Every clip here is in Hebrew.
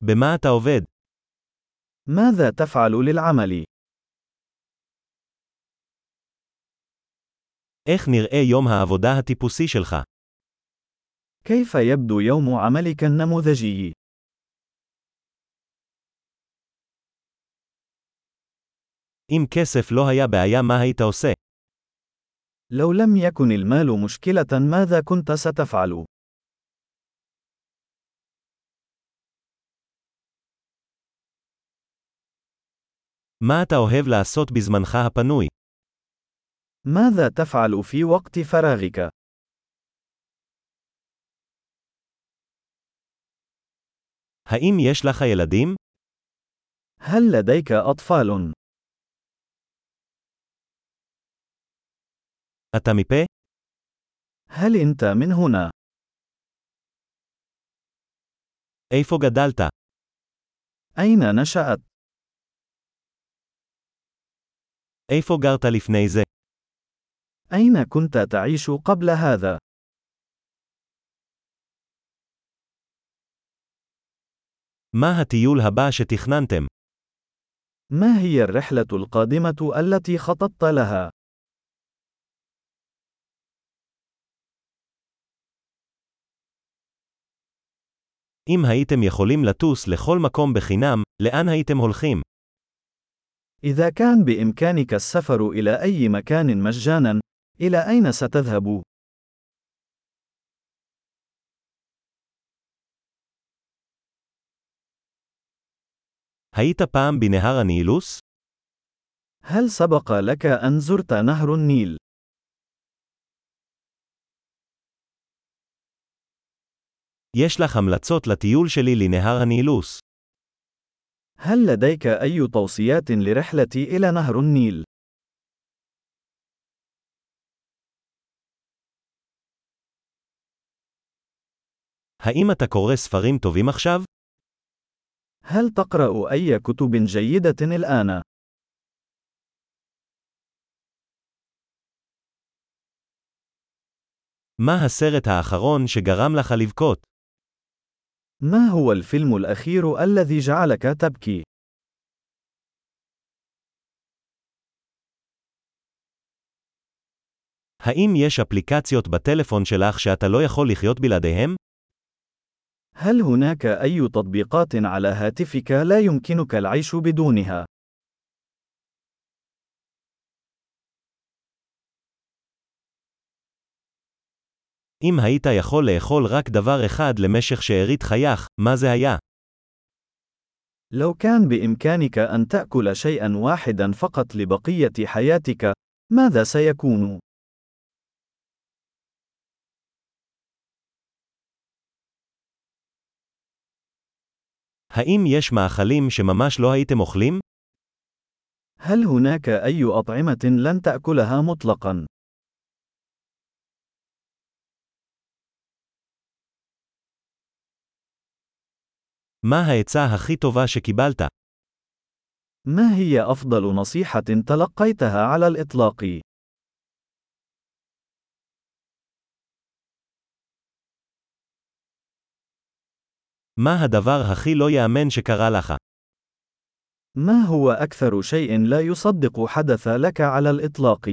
במה אתה עובד? ماذا تفعل للعمل؟ איך נראה יום העבודה הטיפוסי שלך? كيف يبدو يوم عملك النموذجي؟ אם כסף לא היה בעיה מה היית עושה? لو لم يكن المال مشكلة ماذا كنت ستفعل؟ מה אתה אוהב לעשות בזמנך הפנוי? ماذا تفعل في وقت فراغك؟ האם יש לך ילדים? هل لديك أطفال؟ אתה מפה? هل أنت من هنا؟ איפה גדלת? أين نشأت؟ איפה גרת לפני זה? أين كنت تعيش قبل هذا؟ מה הטיול הבא שתכננתם? ما هي الرحلة القادمة التي خططت لها؟ אם הייתם יכולים לטוס לכל מקום בחינם, לאן הייתם הולכים? إذا كان بإمكانك السفر إلى أي مكان مجانا، إلى أين ستذهب؟ היית פעם בנהר הנילוס? هل سبق لك أن زرت نهر النيل؟ יש לך המלצות לטיול שלי לנהר הנילוס. هل لديك أي توصيات لرحلتي إلى نهر النيل؟ האם אתה קורא ספרים טובים עכשיו? هل تقرأ أي كتب جيدة الآن؟ מה הסרט האחרון שגרם לך לבכות? ما هو الفيلم الأخير الذي جعلك تبكي؟ האם יש אפליקציות בטלפון שלך שאתה לא יכול לחיות בלעדיהם? هل هناك أي تطبيقات على هاتفك لا يمكنك العيش بدونها؟ אם היית יכול לאכול רק דבר אחד למשך שארית חייך, מה זה היה? لو كان بإمكانك أن تأكل شيئا واحدا فقط لبقية حياتك، ماذا سيكون؟ האם יש מאכלים שממש לא הייתם אוכלים? هل هناك أي أطعمة لن تأكلها مطلقا؟ מה העצה הכי טובה שקיבלת? ما هي أفضل نصيحة تلقيتها على الإطلاق؟ מה הדבר הכי לא יאמן שקרה לך? ما هو أكثر شيء لا يصدق حدث لك على الإطلاق؟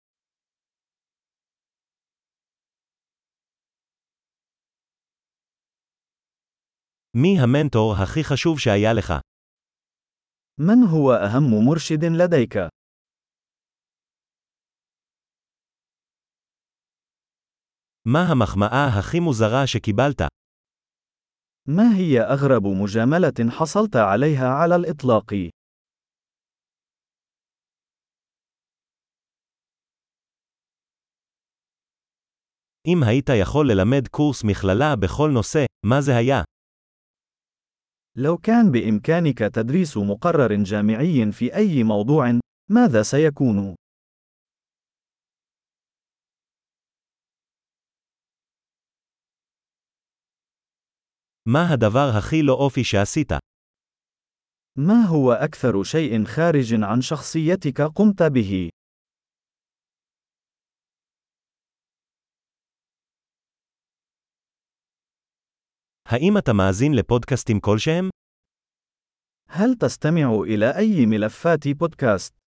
מי המנטור הכי חשוב שהיה לך? من هو أهم مرشد لديك؟ מה המחמאה הכי מוזרה שקיבלת? ما هي أغرب مجاملة حصلت عليها على الإطلاق؟ אם היית יכול ללמד קורס מכללה בכל נושא, מה זה היה? لو كان بإمكانك تدريس مقرر جامعي في أي موضوع، ماذا سيكون؟ מה הדבר הכי לא אופי שעשית? ما هو أكثر شيء خارج عن شخصيتك قمت به؟ האם אתה מאזין לפודקאסטים כלשהם? هل تستمع إلى أي ملفات بودكاست؟